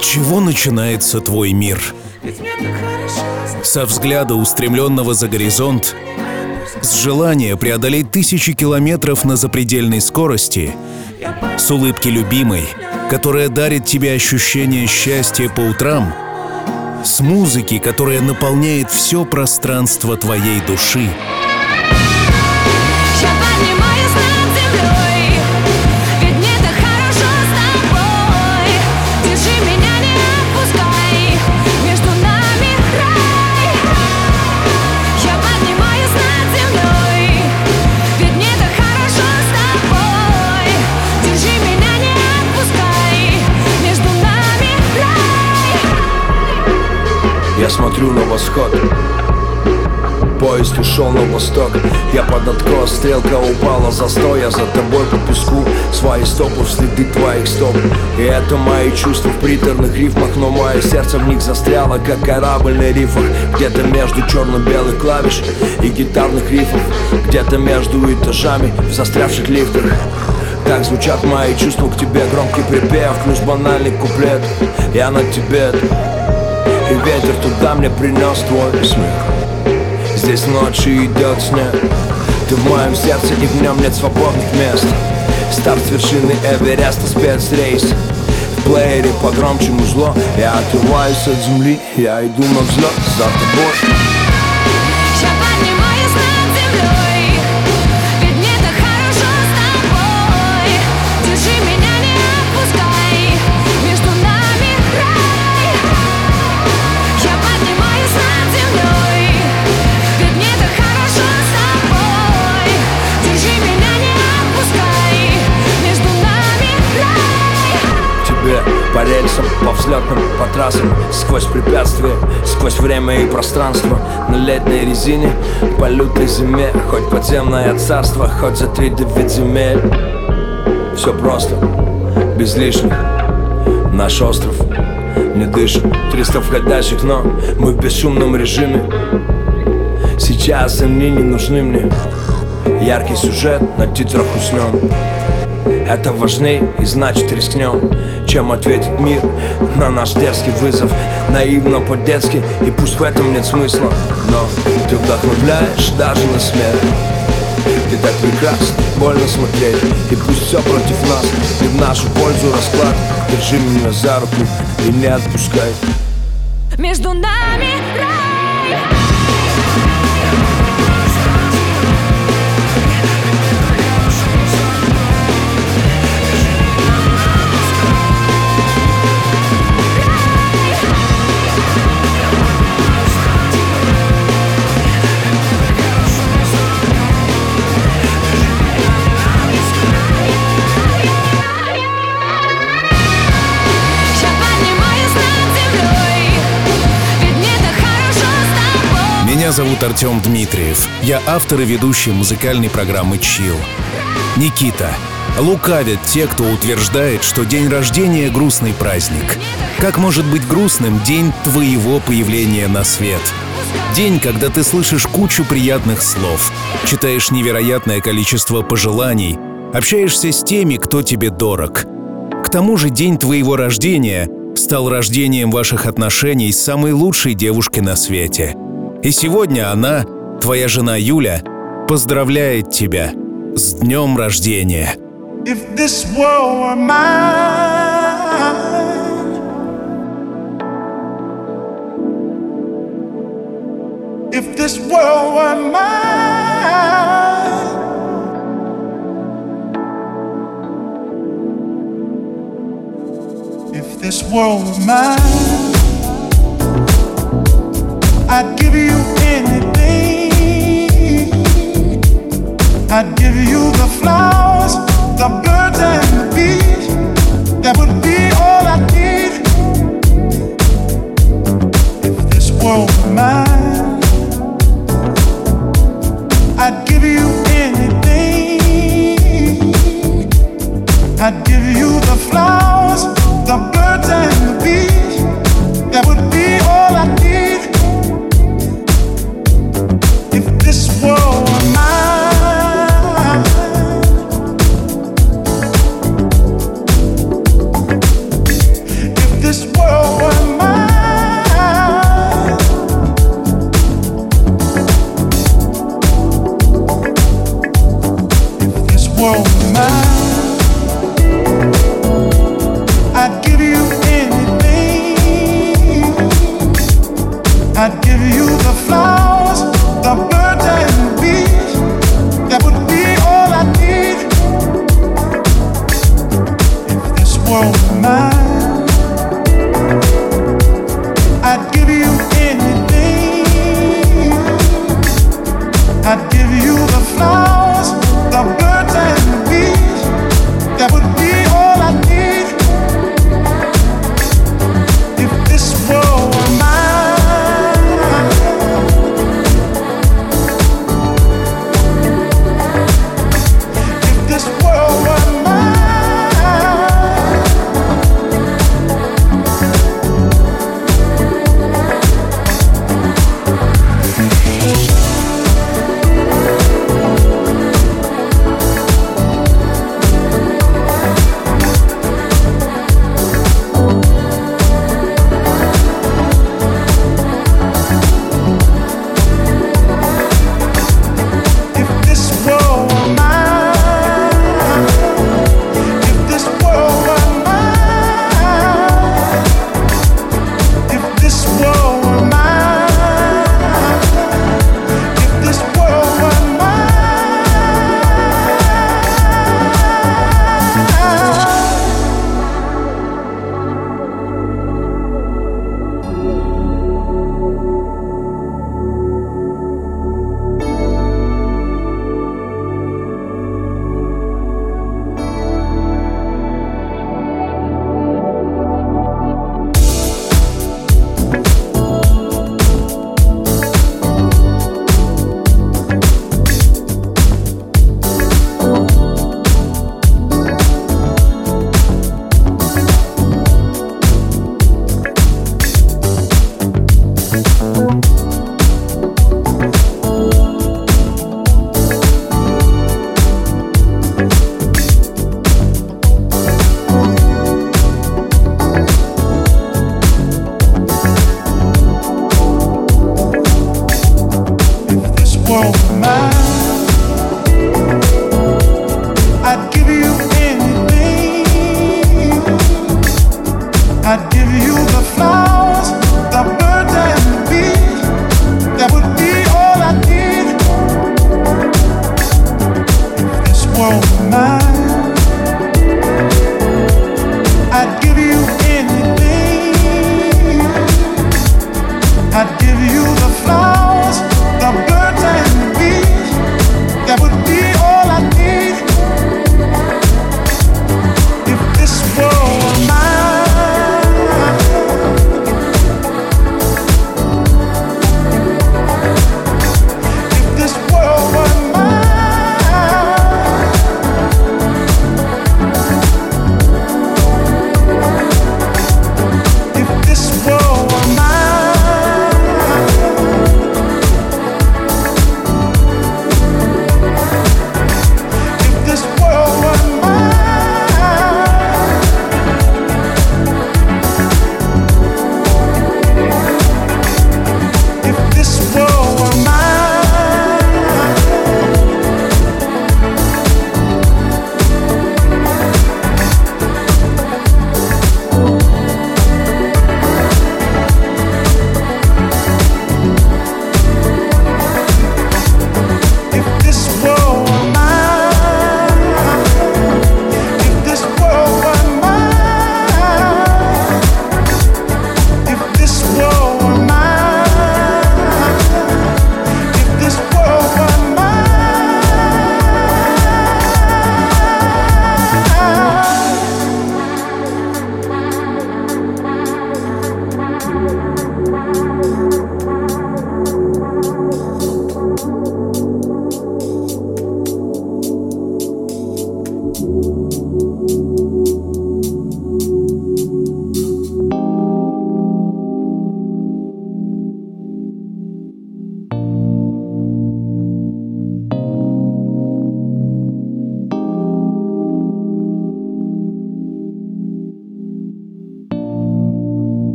чего начинается твой мир? Со взгляда, устремленного за горизонт, с желания преодолеть тысячи километров на запредельной скорости, с улыбки любимой, которая дарит тебе ощущение счастья по утрам, с музыки, которая наполняет все пространство твоей души. Я смотрю на восход, поезд ушел на восток. Я под откос, стрелка упала, застой. Я за тобой по песку, свои стопы в следы твоих стоп. И это мои чувства в приторных рифмах, но мое сердце в них застряло, как корабль на рифах. Где-то между черно-белых клавиш и гитарных рифов, где-то между этажами в застрявших лифтах. Так звучат мои чувства к тебе, громкий припев плюс банальный куплет. Я на тебе, и ветер туда мне принес твой смех. Здесь ночью идет снег, ты в моем сердце, и в нем нет свободных мест. Старт с вершины Эвереста, спецрейс. В плеере погромче музло. Я отрываюсь от земли, я иду на взлет за тобой. По рельсам, по взлетным, по трассам, сквозь препятствия, сквозь время и пространство. На летней резине, по лютой зиме, хоть подземное царство, хоть за 3-9 земель. Все просто, без лишних. Наш остров не дышит, 300 входящих, но мы в бесшумном режиме. Сейчас они не нужны мне. Яркий сюжет, на титрах уснем. Это важней и значит рискнем, чем ответит мир на наш дерзкий вызов. Наивно по-детски, и пусть в этом нет смысла, но ты вдохновляешь даже на смерть. Ты так прекрасно, больно смотреть, и пусть все против нас, и в нашу пользу расклад. Держи меня за руку и не отпускай. Между нами рай. Меня зовут Артем Дмитриев. Я автор и ведущий музыкальной программы «Чилл». Никита. Лукавят те, кто утверждает, что день рождения — грустный праздник. Как может быть грустным день твоего появления на свет? День, когда ты слышишь кучу приятных слов, читаешь невероятное количество пожеланий, общаешься с теми, кто тебе дорог. К тому же день твоего рождения стал рождением ваших отношений с самой лучшей девушкой на свете. И сегодня она, твоя жена Юля, поздравляет тебя с днем рождения. If this world were mine, if this world were mine, if this world were mine, I'd give you anything. I'd give you the flowers, the birds and the bees. That would be all I need. If this world were mine, I'd give you anything. I'd give you the flowers, the birds and the bees. That would be all I need. If this world were mine, if this world world were mine, I'd give you anything. I'd give you the flowers, the birds and the bees. That would be all I need. If this world were mine, if this world were mine,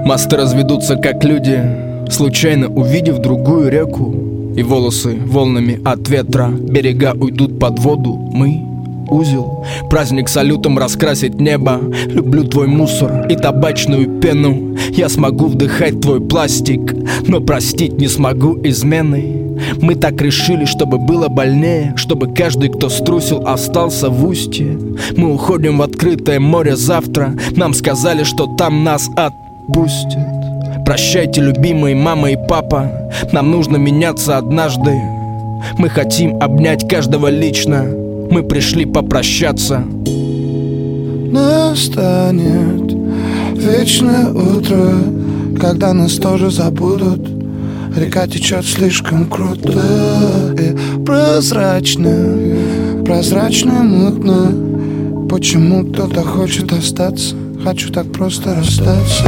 Мосты разведутся как люди, случайно увидев другую реку. И волосы волнами от ветра, берега уйдут под воду. Мы узел, праздник салютом раскрасить небо. Люблю твой мусор и табачную пену. Я смогу вдыхать твой пластик, но простить не смогу измены. Мы так решили, чтобы было больнее, чтобы каждый, кто струсил, остался в устье. Мы уходим в открытое море завтра. Нам сказали, что там нас отпустят. Прощайте, любимые мама и папа, нам нужно меняться однажды. Мы хотим обнять каждого лично. Мы пришли попрощаться. Настанет вечное утро, когда нас тоже забудут. Река течет слишком круто и прозрачно, прозрачно, мутно. Почему кто-то хочет остаться? Хочу так просто расстаться.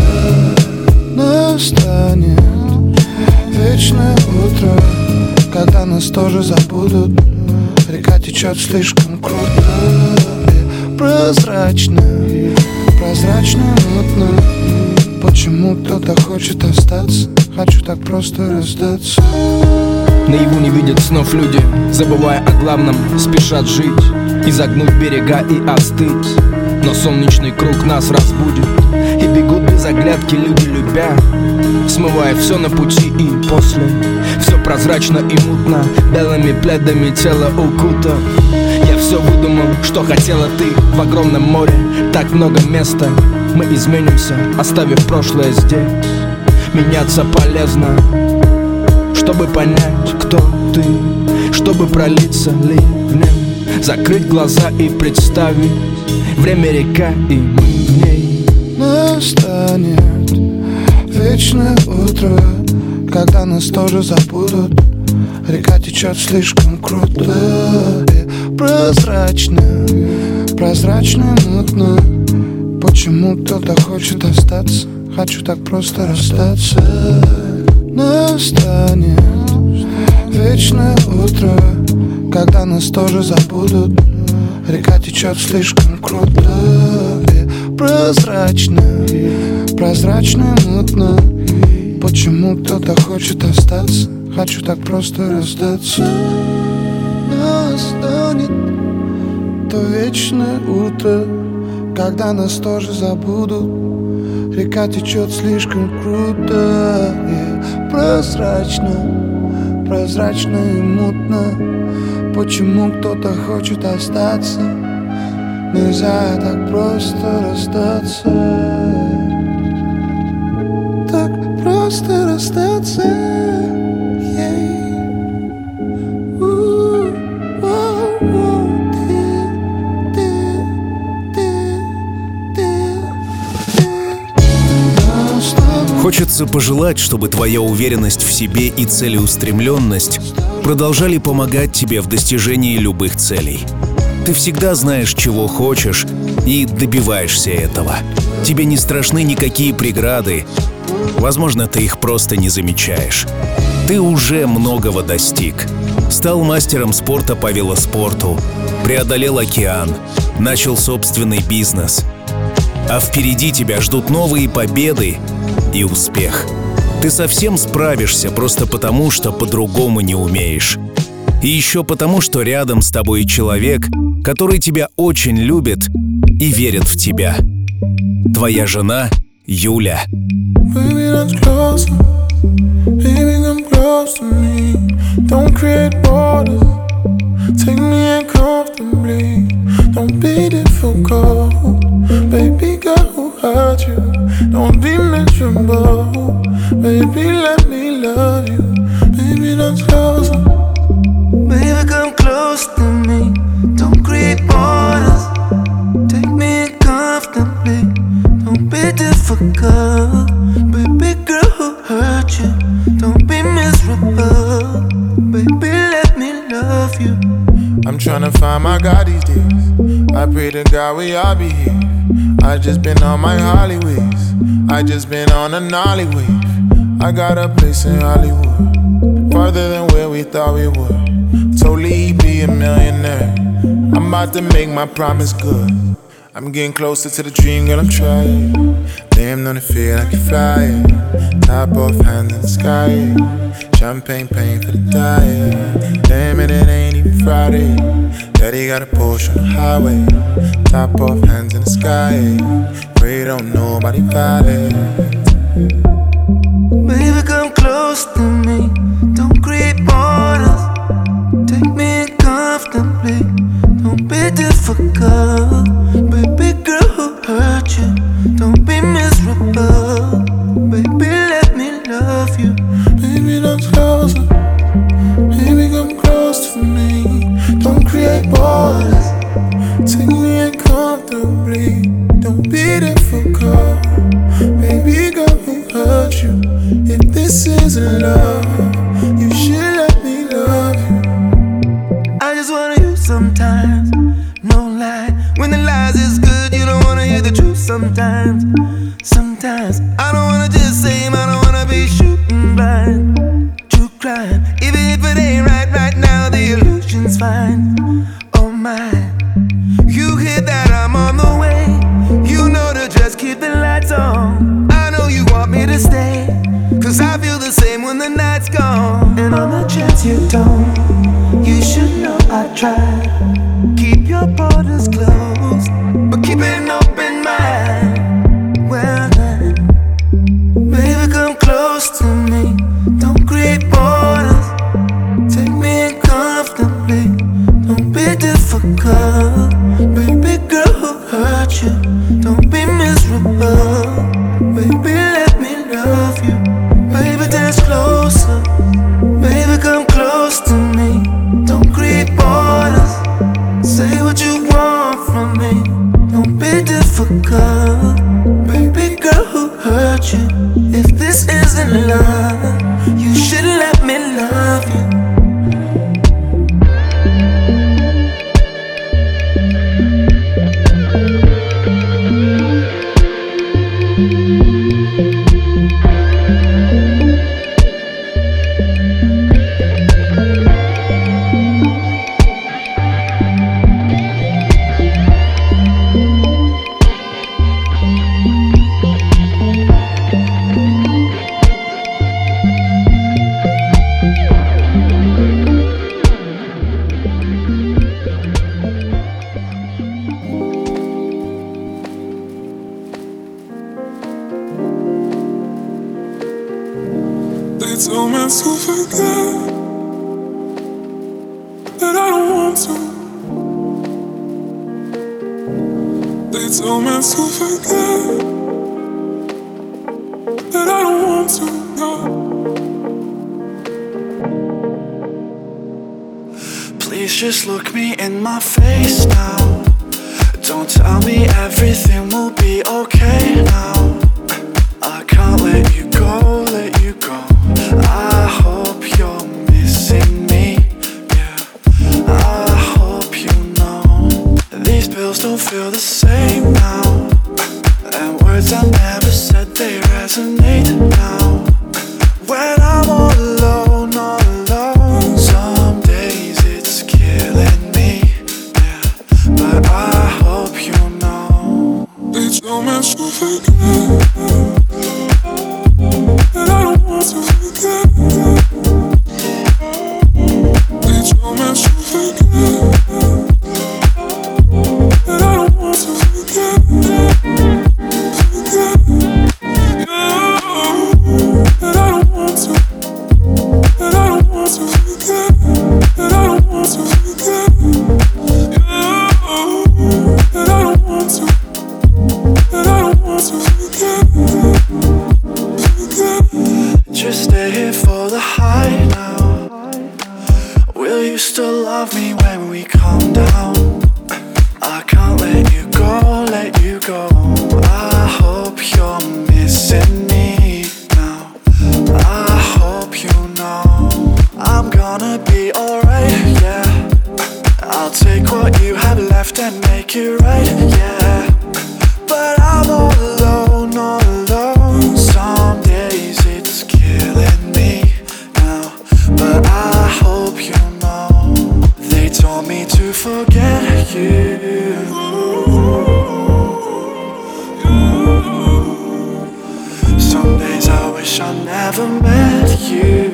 Настанет вечное утро, когда нас тоже забудут. Река течет слишком круто и прозрачно, прозрачно, мутно. Почему кто-то хочет остаться? Хочу так просто расстаться. Наяву не видят снов люди, забывая о главном, спешат жить, изогнуть берега и остыть. Но солнечный круг нас разбудит, и бегут без оглядки люди, любя, смывая все на пути и после. Все прозрачно и мутно, белыми пледами тело укута. Я все выдумал, что хотела ты в огромном море. Так много места, мы изменимся, оставив прошлое здесь. Меняться полезно, чтобы понять, кто ты, чтобы пролиться ливнем, закрыть глаза и представить время река и мы в ней. Настанет вечное утро, когда нас тоже забудут. Река течет слишком круто и прозрачно, прозрачно, мутно. Почему кто-то хочет остаться? Хочу так просто расстаться. Настанет вечное утро, когда нас тоже забудут. Река течет слишком круто и прозрачно, прозрачно, мутно. Почему кто-то хочет остаться? Хочу так просто расстаться. Настанет то вечное утро, когда нас тоже забудут. Река течет слишком круто и прозрачно, прозрачно и мутно. Почему кто-то хочет остаться? Нельзя так просто расстаться. Так просто расстаться. Хочется пожелать, чтобы твоя уверенность в себе и целеустремленность продолжали помогать тебе в достижении любых целей. Ты всегда знаешь, чего хочешь, и добиваешься этого. Тебе не страшны никакие преграды. Возможно, ты их просто не замечаешь. Ты уже многого достиг. Стал мастером спорта по велоспорту, преодолел океан, начал собственный бизнес. А впереди тебя ждут новые победы и успех. Ты совсем справишься просто потому, что по-другому не умеешь. И еще потому, что рядом с тобой человек, который тебя очень любит и верит в тебя. Твоя жена Юля. Baby, that's closer. Baby, come close to me. Don't create borders. Take me in comfortably. Don't be difficult. Baby, girl, who hurt you? Don't be miserable. Baby, let me love you. Baby, that's closer. Baby, come close to me. Don't create borders. Take me in comfortably. Don't be difficult. Baby, girl, who hurt you? Don't be miserable. Baby, let me love you. I'm tryna find my God these days. I pray to God we all be here. I just been on my Hollyways. I just been on a Nolly wave. I got a place in Hollywood, farther than where we thought we would. Totally be a millionaire. I'm about to make my promise good. I'm getting closer to the dream, girl, I'm trying. Named on the feet like you're flying. Top off, hands in the sky. Champagne paying for the diet. Damn it, it ain't even Friday. Daddy got a Porsche on the highway. Top off, hands in the sky. Pray don't nobody violate. Baby, come close to me. Don't create borders. Take me in comfortably. Don't be difficult. Baby girl, who hurt you? Don't be miserable. Baby, let me love you. Baby, come closer. Baby, come close to me. Don't create borders. Take me in comfortably. Don't be difficult. Baby girl, who hurt you? If this isn't love, you should let me love you. I just wanna hear sometimes, no lie. When the lies is good, you don't wanna hear the truth sometimes. Sometimes I don't wanna just say him, I don't wanna be shooting blind. True crime, even if it ain't right now, the illusion's fine. Oh my, you hear that I'm on the way. You know to just keep the lights on. I know you want me to stay, 'cause I feel the same when the night's gone. And on the chance you don't, you should know I tried. Keep your borders closed, but keep an open mind. Well then, baby, come close to me. Don't create borders. Take me in comfortably. Don't be difficult. Baby girl, who hurt you? Don't be miserable. Baby, let me love you. Baby, dance closer. Baby, come close to me. Don't create borders. Say what you want from me. Don't be difficult. Baby girl, who hurt you? If this isn't love, you should let me love you. They told me to forget, that I don't want to. They told me to forget, that I don't want to, no. Please just look me in my face now. Don't tell me everything will be okay now. I can't let you go, let you go. I hope you're missing me, yeah. I hope you know these bills don't feel the same now. And words I never said, they resonate now. When I'm all alone, some days it's killing me, yeah. But I hope you know. They told me to forget, that I don't want to forget. They told me to forget, that I don't want to forget. Forget you, that I don't want to. That I don't want to forget. That I don't want to forget you. That I don't want to. That I don't want to forget. Just stay here for the high now. Will you still love me when we calm down? I can't let you go, let you go. I hope you're missing me now. I hope you know I'm gonna be alright, yeah. I'll take what you have left and make it right, yeah. But I'm all alone, all alone. Some days it's killing me now. But I hope you know they told me to forget you. never met you.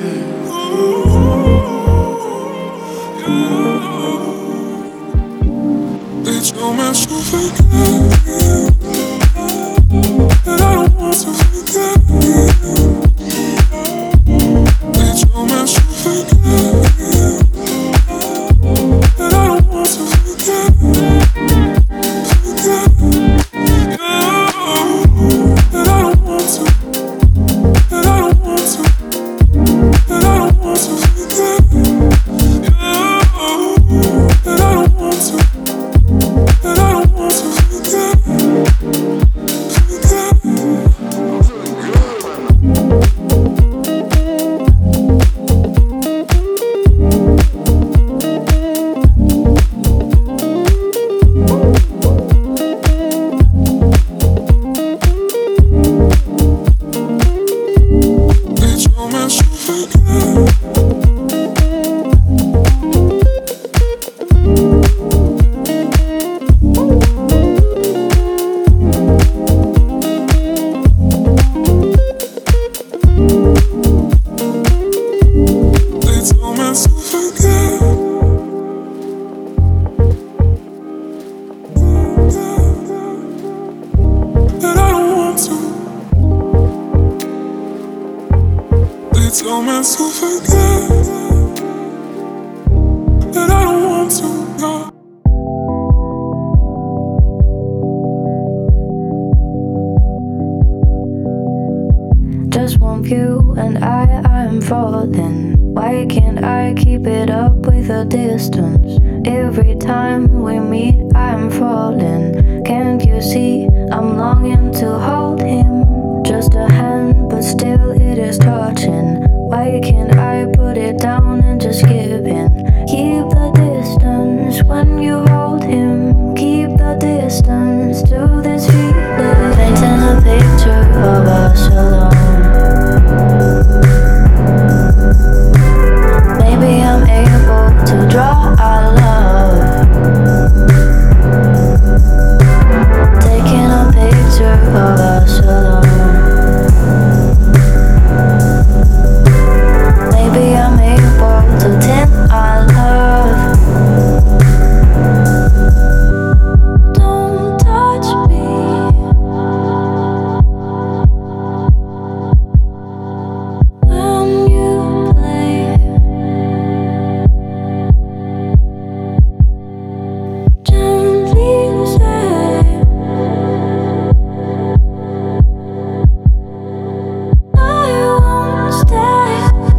They told me to forget, and I don't want to forget. They told me to forget, and I don't want to forget. Just one view and I'm falling. Why can't I keep it up with a distance? Every time we meet, I'm falling. Can't you see I'm longing to hold him? Just a hand, but still it is touching. Why can't I put it down and just give in? Keep the distance when you hold him. Keep the distance to this feeling. Painting a picture of us alone. Maybe I'm able to draw our love. Taking a picture of us alone. Maybe I'm able to tint our love. Don't touch me. When you play, gently say, I won't stay.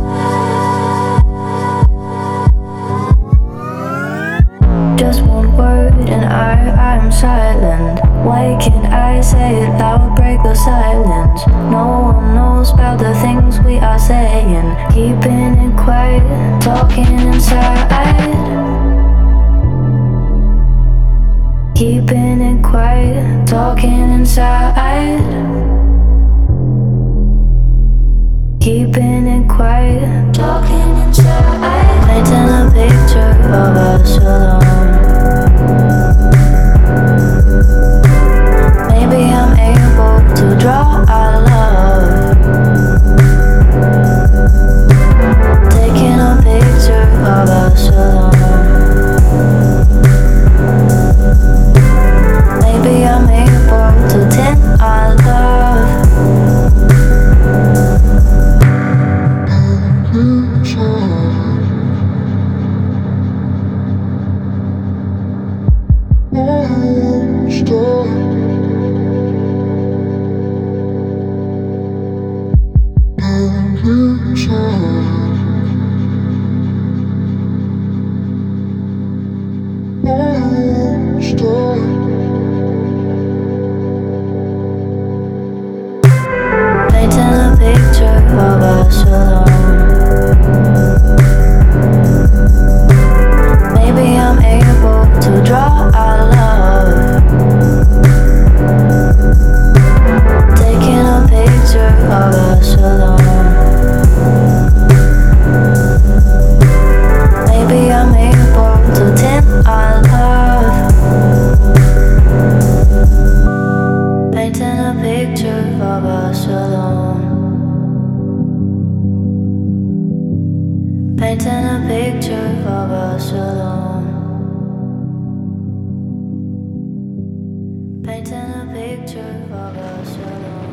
Just one word and I'm silent. Why can't I say it loud, break the silence? No one knows about the things we are saying. Keeping it quiet, talking inside. Keeping it quiet, talking inside. Keeping it quiet, talking inside. Painting a picture of us alone. Maybe I'm able to draw our love. Taking a picture of us alone. Maybe I'm able to tint our love. Painting a picture of us alone. Maybe I'm able to draw our love. Taking a picture of us alone. painting a picture of us alone. Painting a picture of us alone.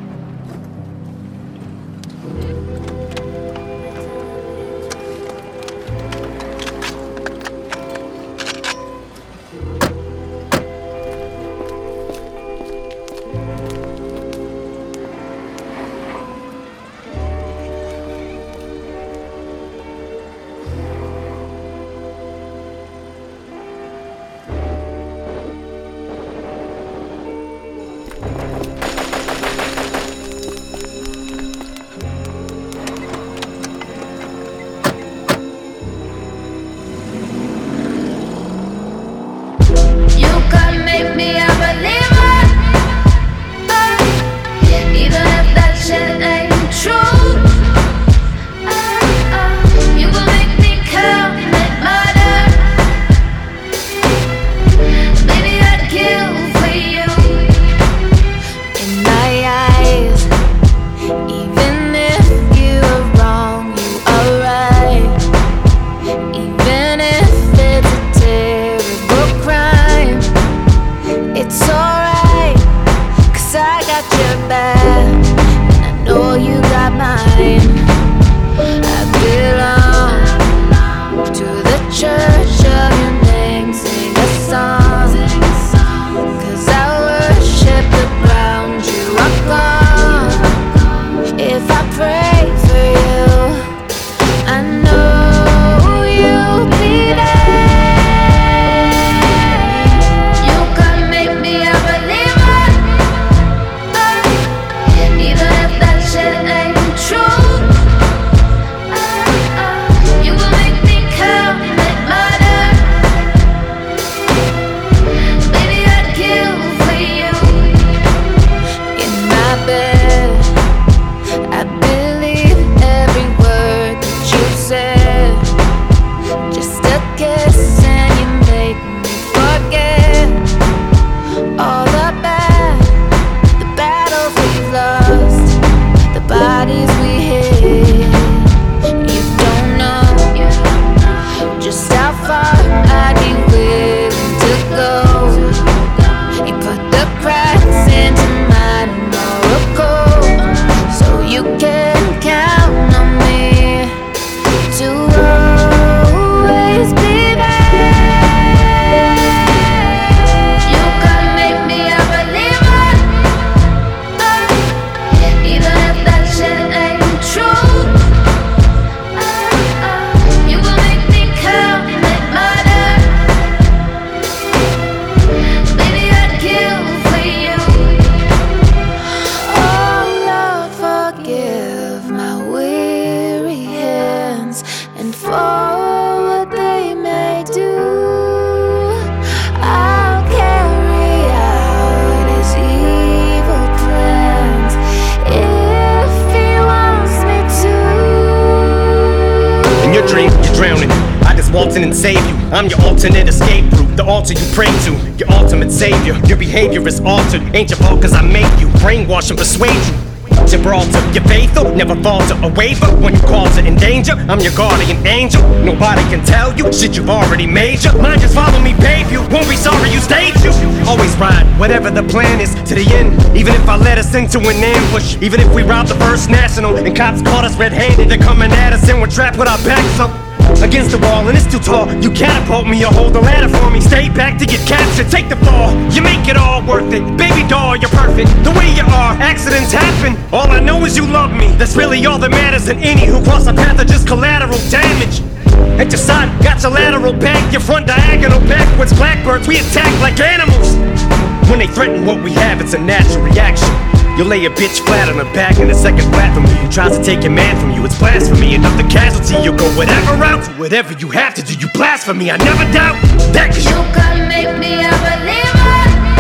And save you. I'm your alternate escape route, the altar you pray to, your ultimate savior. Your behavior is altered, ain't your fault cause I make you brainwash and persuade you. Gibraltar, you're faithful, never falter or waver. When you call to in danger, I'm your guardian angel. Nobody can tell you shit you've already made you. Mine, just follow me, babe, you won't be sorry you stayed you. Always ride, whatever the plan is, to the end. Even if I let us into an ambush, even if we robbed the First National and cops caught us red-handed, they're coming at us and we're trapped with our backs up against the wall and it's too tall. You catapult me or hold the ladder for me. Stay back to get captured, take the fall. You make it all worth it. Baby doll, you're perfect the way you are. Accidents happen, all I know is you love me. That's really all that matters. And any who cross our path are just collateral damage. At your side, got your lateral back, your front diagonal backwards. Blackbirds, we attack like animals. When they threaten what we have, it's a natural reaction. You'll lay a bitch flat on her back in a second flat from you. Who tries to take your man from you, it's blasphemy. Another casualty, you'll go whatever route. Whatever you have to do, you blasphemy. I never doubt that cause you can make me a believer,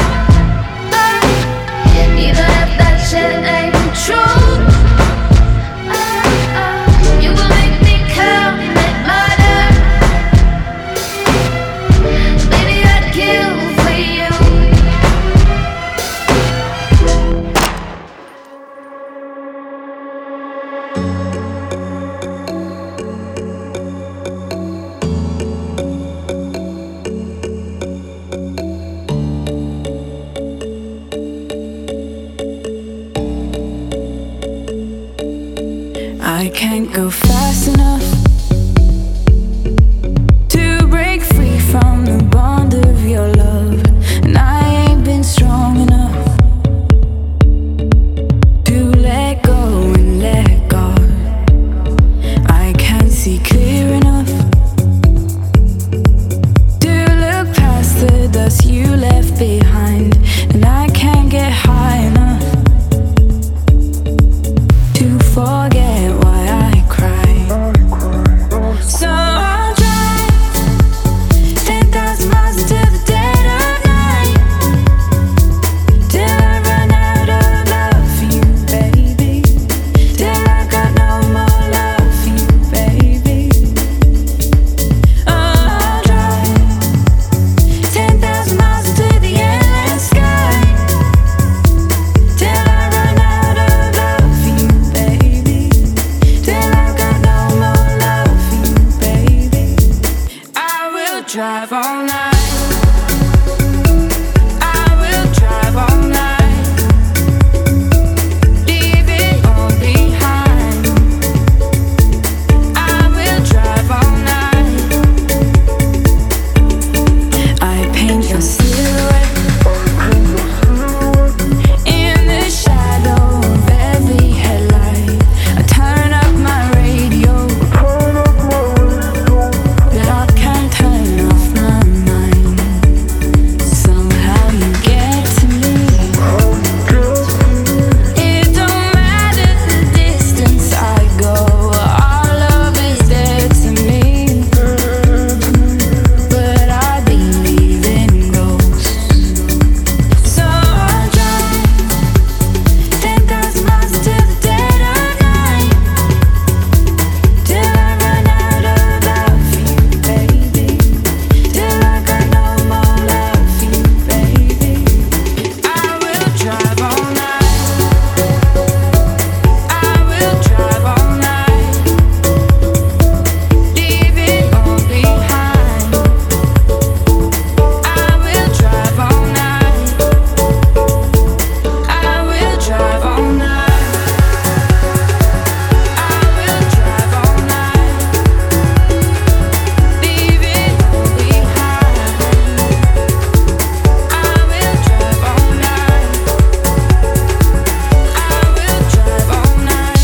even if that shit ain't true. You will make me commit murder. Baby, I'd kill for you. can't go fast enough to break free from the bond of your love, and I ain't been strong enough to let go and let God. I can't see clear enough to look past the dust you left behind, and I can't get high enough to forget why I cry. So I'll drive 10,000 miles into the dead of night till I run out of love for you, baby. Till I got no more love for you, baby. I'll drive 10,000 miles into the endless sky till I run out of love for you, baby. Till I got no more love for you, baby. I will drive all night. I will drive all night. Leave it all behind. I will drive all night. I paint your silhouette in the shadow of every headlight. I turn up my radio, but I can't turn off my mind. Somehow you get to me. It don't matter the distance I go, our love is dead to me. But I believe in ghosts. So I'll drive 10,000 miles into the dead of night till I run out of love for you, baby. Till I got no more love for you, baby. I will drive all night. I will drive all night. Leave it all behind. I will drive all night. I will drive all night. I will drive all night. Leave it all behind. I will drive all night. I will drive all night.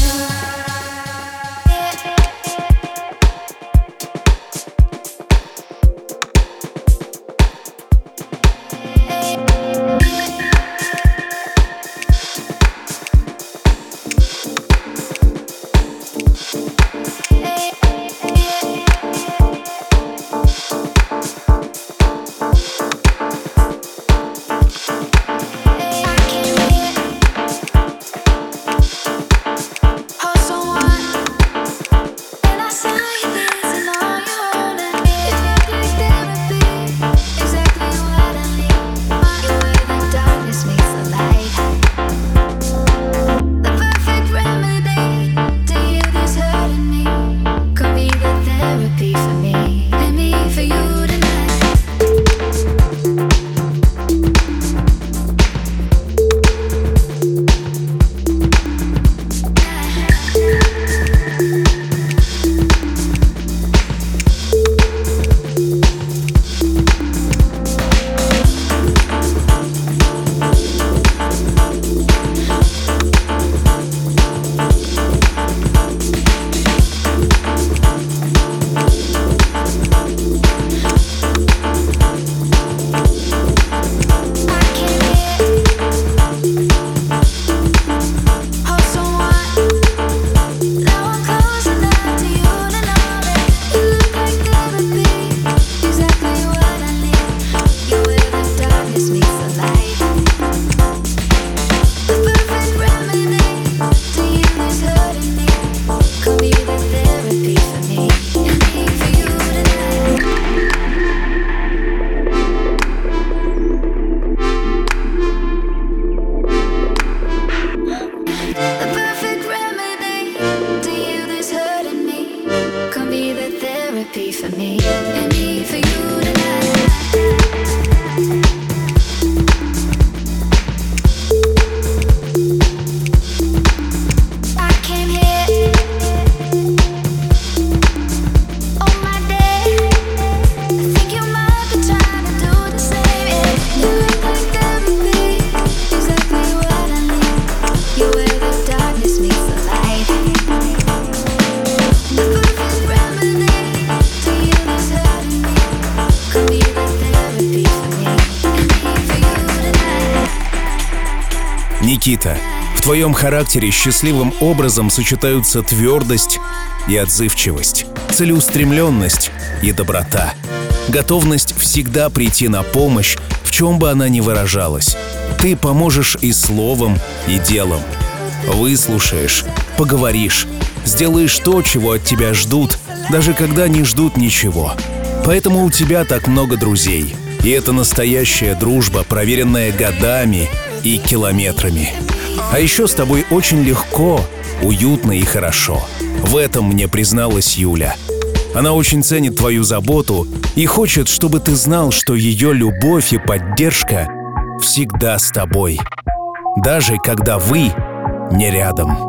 Никита, в твоем характере счастливым образом сочетаются твердость и отзывчивость, целеустремленность и доброта, готовность всегда прийти на помощь, в чем бы она ни выражалась. Ты поможешь и словом, и делом. Выслушаешь, поговоришь, сделаешь то, чего от тебя ждут, даже когда не ждут ничего. Поэтому у тебя так много друзей. И это настоящая дружба, проверенная годами и километрами. А еще с тобой очень легко, уютно и хорошо. В этом мне призналась Юля. Она очень ценит твою заботу и хочет, чтобы ты знал, что ее любовь и поддержка всегда с тобой, даже когда вы не рядом.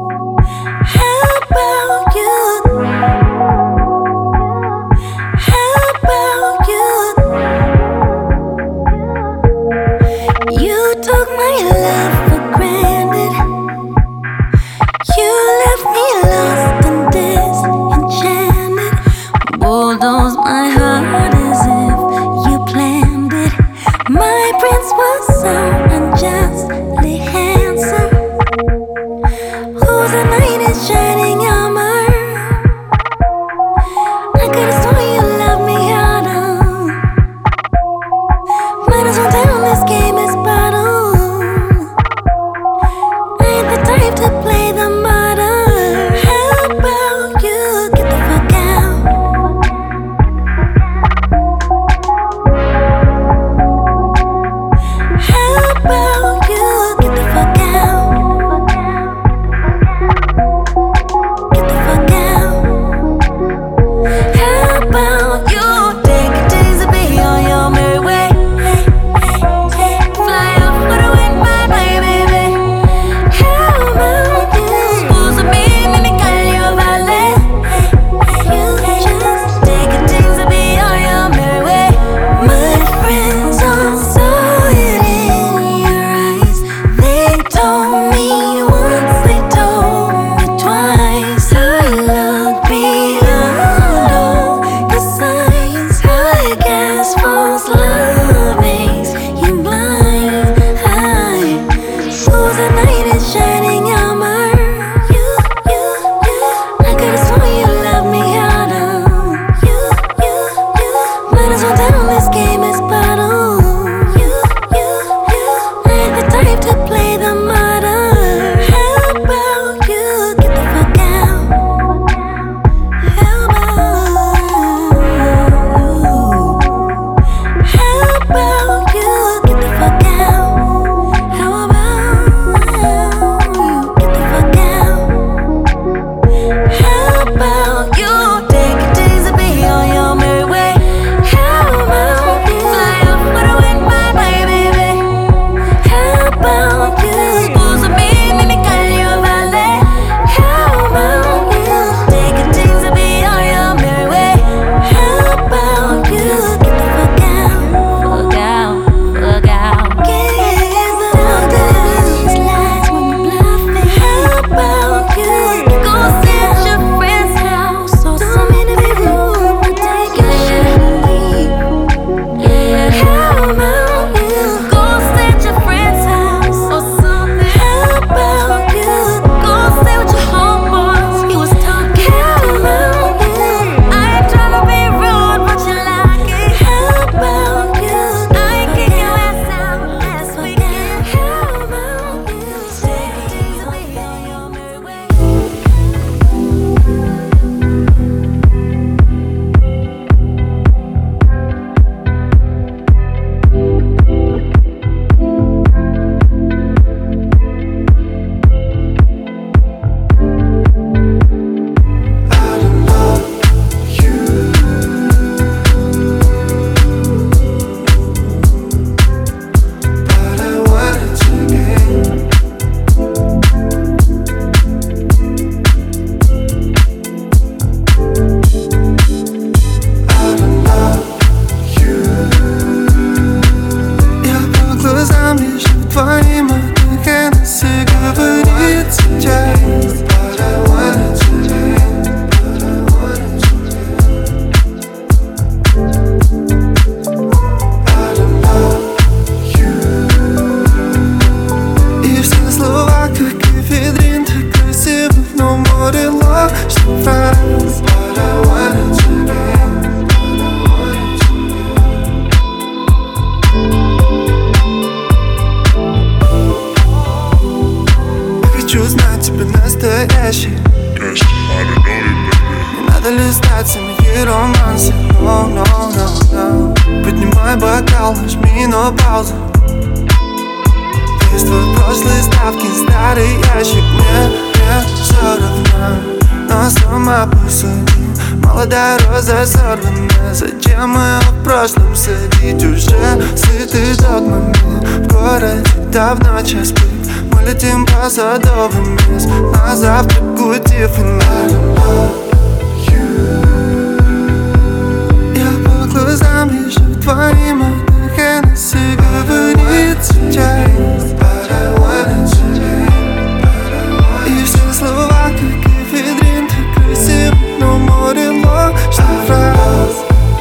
Bulldoze my heart as if you planned it. My prince was so unjustly handsome. Whose knight is shining armor надо листать семьи романсы. No, no, no, no. Поднимай бокал, нажми на паузу. Из твоей прошлой ставки старый ящик. Мне все равно, но сама посуди. Молодая роза сорвана. Зачем мы в прошлом садить? Уже сытый догмами. В городе давно час пик. Мы летим по садовым мест. На завтрак кути фонарем. Я по глазам вижу твоим от Хеннесси говорит сейчас. И все слова, как эфедрин, так красив, но море ложных фраз.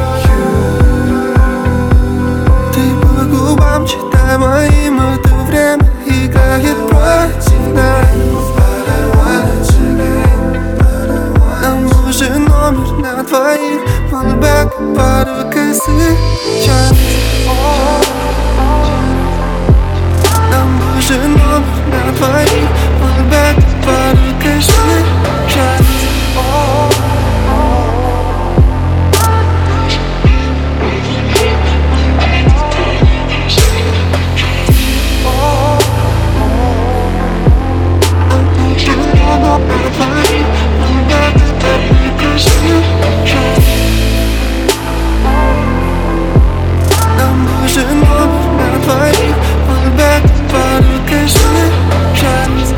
Ты по губам читай моим, это время играет против нас. Нам нужен номер на двоих, полбэк, пару косых час. Нам нужен номер на двоих, полбэк, пару косых час. Нам нужен номер на двоих, полбэк, пару косых час.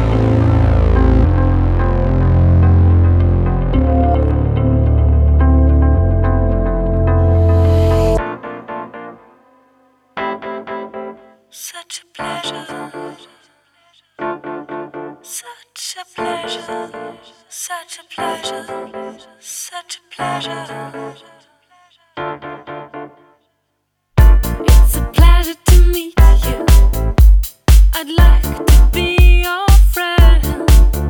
Such a pleasure, such a pleasure, such a pleasure, such a pleasure. It's a pleasure to meet you. I'd like to be your friend.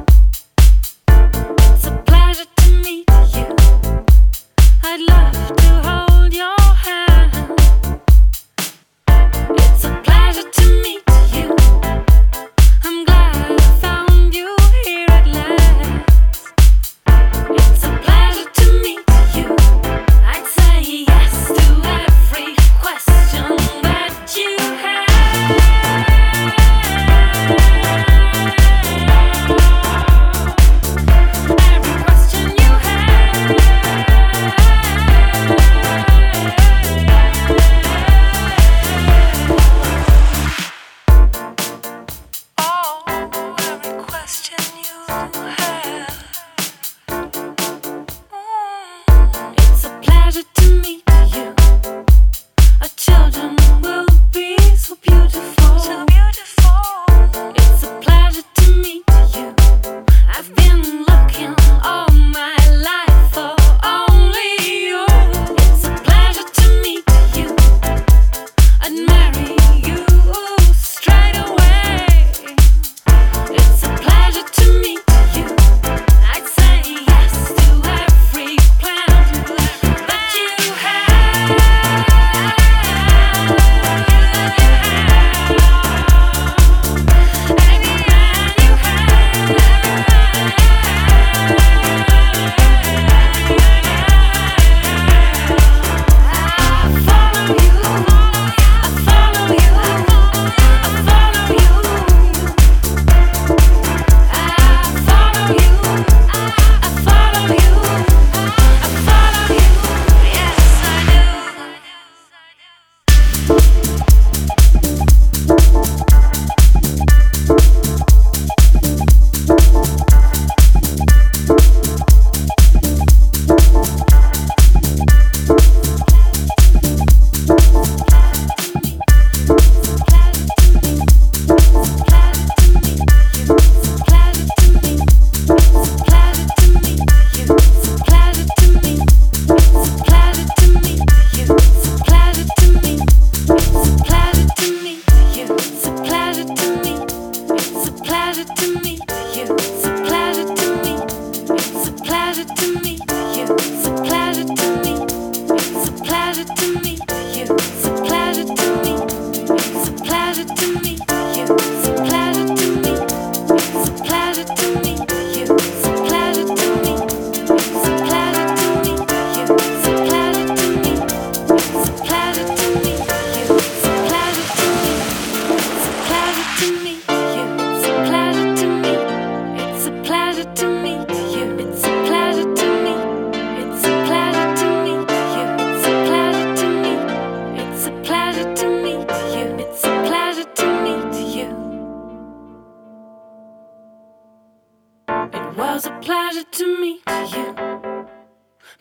It's a pleasure to meet you. I'd love to hold your hand. It's a pleasure to meet you. I'm glad I found you here at last. It's a pleasure to meet you. I'd say yes to every question that you have.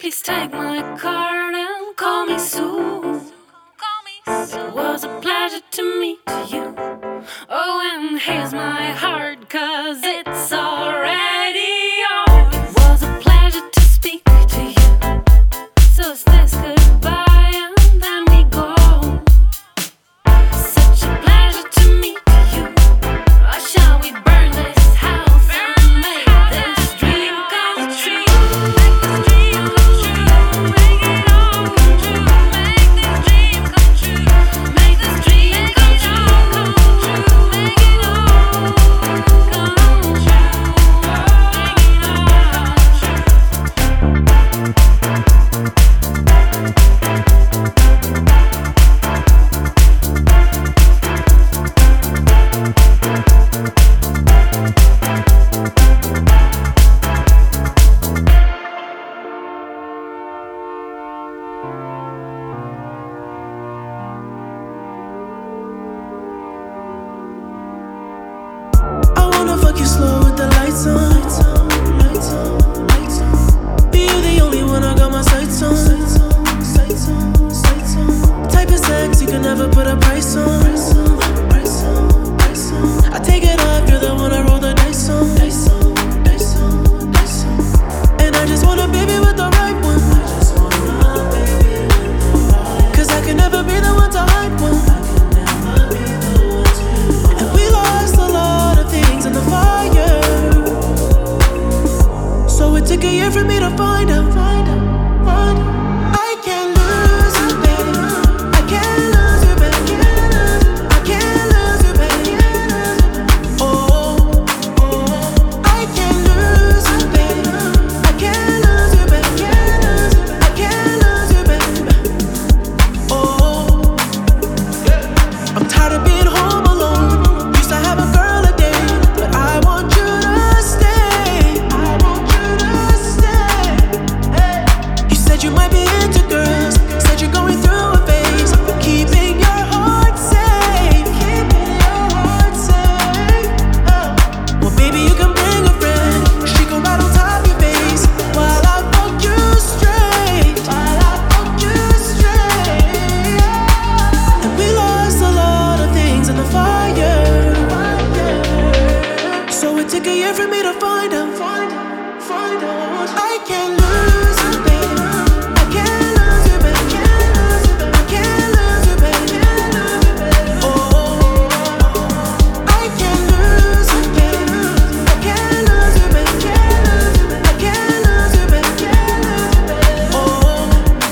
Please take my card and call me soon. It was a pleasure to meet you. Oh, and here's my heart, 'cause it's already yours. It was a pleasure to speak to you. So is this goodbye and then we go. Such a pleasure to meet you. Or shall we burn this house and make this dream come true? Make this dream come true. Make it all come true. Make this dream come true. Make this dream come true. Make it all come true. Make it I wanna fuck you slow with the lights on. Be you the only one I got my sights on. Type of sex you can never put a price on. I take it off, you're the one I roll the dice on. And I just want a baby with the right one. 'Cause I can never be the one to hide one. And we lost a lot of things in the fire. So it took a year for me to find out. I can't lose you, baby. I can't lose you, baby. I can't lose you, baby. Oh, I can't lose you, baby. I can't lose you, baby. I can't lose you, baby. Oh, I'm tired of being home alone. Used to have a girl a day, but I want you to stay. I want you to stay. You said you might be into girls. Said you're going through a phase. Keeping your heart safe. Keeping your heart safe. Well, baby, you can bring a friend. She can ride on top of your face while I fuck you straight. While I fuck you straight. And we lost a lot of things in the fire. So it took a year for me to find out. I can't lose you, baby. I can't lose you, baby. I can't lose you, baby. Oh, I can't lose you, baby. I can't lose you, baby. I can't lose you, baby. Oh.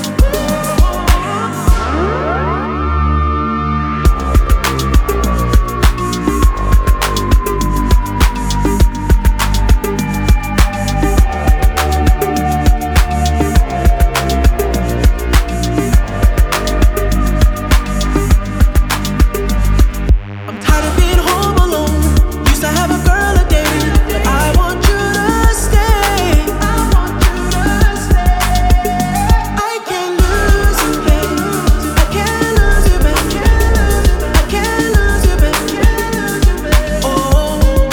I'm tired of being home alone. Used to have a girl a day, but I want you to stay. I want you to stay. I can't lose you, baby. I can't lose you, baby. I can't lose you, baby. Oh.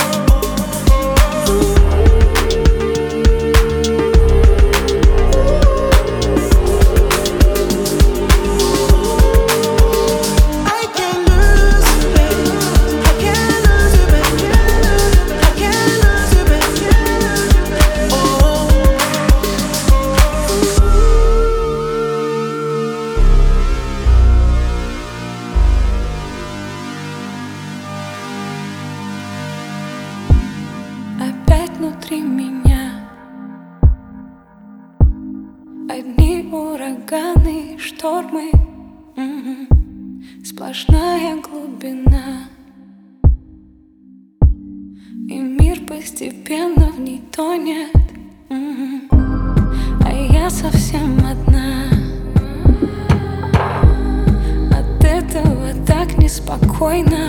I can't lose you, baby. I can't lose you, baby. I can't lose you, baby. Oh. Опять внутри меня одни ураганы, штормы, сплошная глубина. И мир постепенно в ней тонет, а я совсем одна. От этого так неспокойно.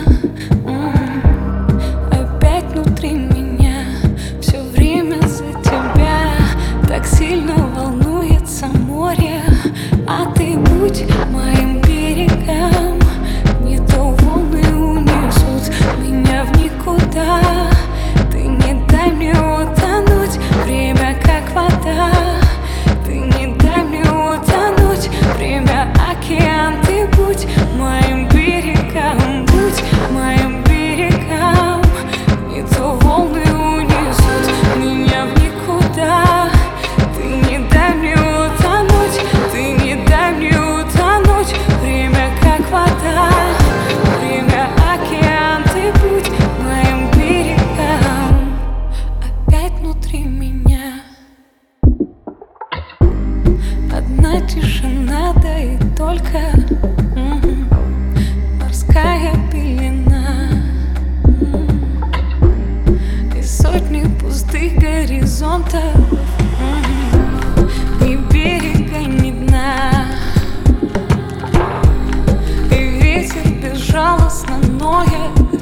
Опять внутри меня все время за тебя. Так сильно волнуется море. А ты будь моим берегом. Не то волны унесут меня в никуда. Ты не дай мне утонуть. Время как вода. Ты не дай одна тишина, да и только морская пелена и сотни пустых горизонтов, ни берега, ни дна. И ветер безжалостно ноет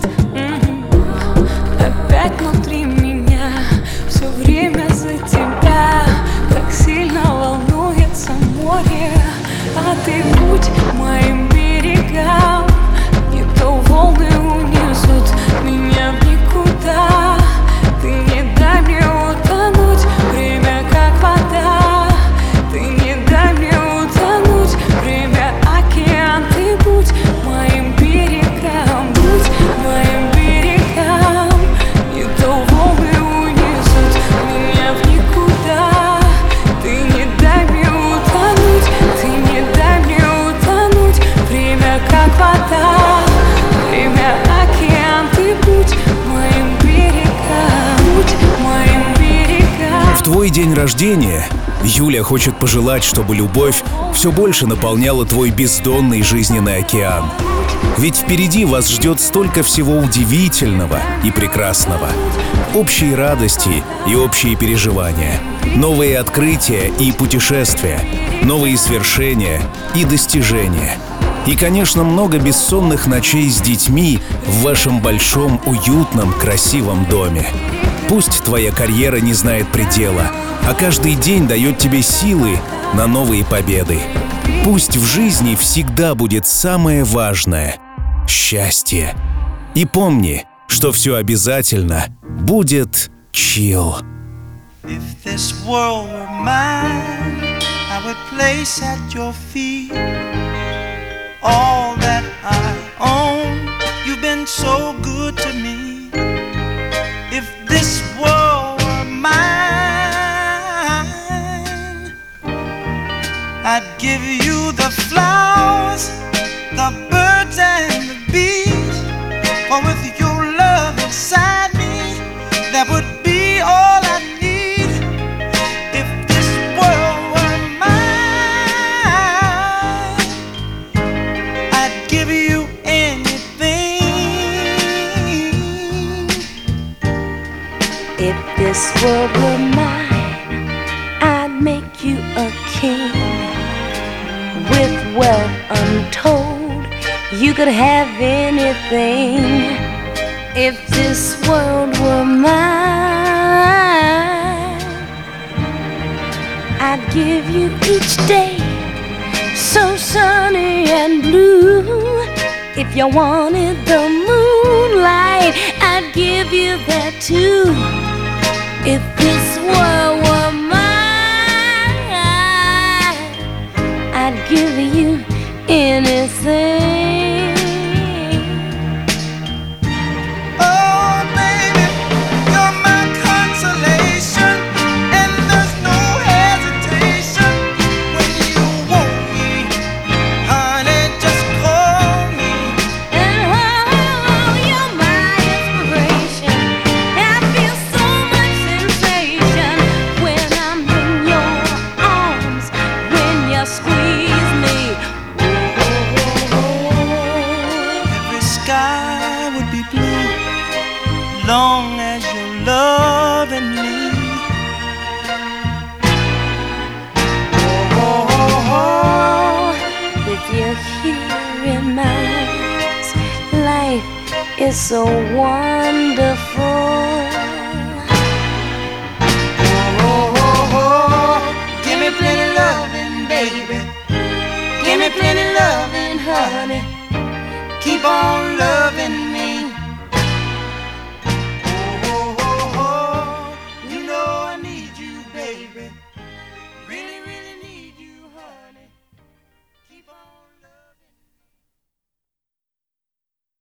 опять внутри меня, все время за тебя. Так сильно волнуется море, а ты будь моим берегам. Не то волны унесут меня в никуда. Ты не дай мне утонуть, время как вода. Ты не дай мне утонуть, время океан. Ты будь моим берегам, будь моим берегам. Не то волны унесут меня в никуда. Ты не дай мне утонуть, ты не дай мне утонуть, время как вода. Время океан. Ты будь моим берегам, будь моим берегам. В твой день рождения Юля хочет пожелать, чтобы любовь все больше наполняла твой бездонный жизненный океан. Ведь впереди вас ждет столько всего удивительного и прекрасного. Общие радости и общие переживания, новые открытия и путешествия, новые свершения и достижения. И, конечно, много бессонных ночей с детьми в вашем большом, уютном, красивом доме. Пусть твоя карьера не знает предела, а каждый день дает тебе силы на новые победы. Пусть в жизни всегда будет самое важное — счастье. И помни, что все обязательно будет chill. If this world were mine, I would place at your feet all that I own. You've been so good to me. If this world were mine, I'd give you the flowers, the birds and the bees. For with your love inside me, that would be all I need. If this world were mine, I'd give you anything. If this world were mine, I'd make you a king. With wealth untold, you could have anything. If this world were mine, I'd give you each day so sunny and blue. If you wanted the moonlight, I'd give you that too. If this world were mine, I'd give you anything. Oh, baby, you're my consolation, and there's no hesitation when you want me, honey. Just call me. And oh, you're my inspiration. I feel so much sensation when I'm in your arms, when you squeeze me. Every sky would be blue, long as you're loving me. With you here in my arms, life is so wonderful.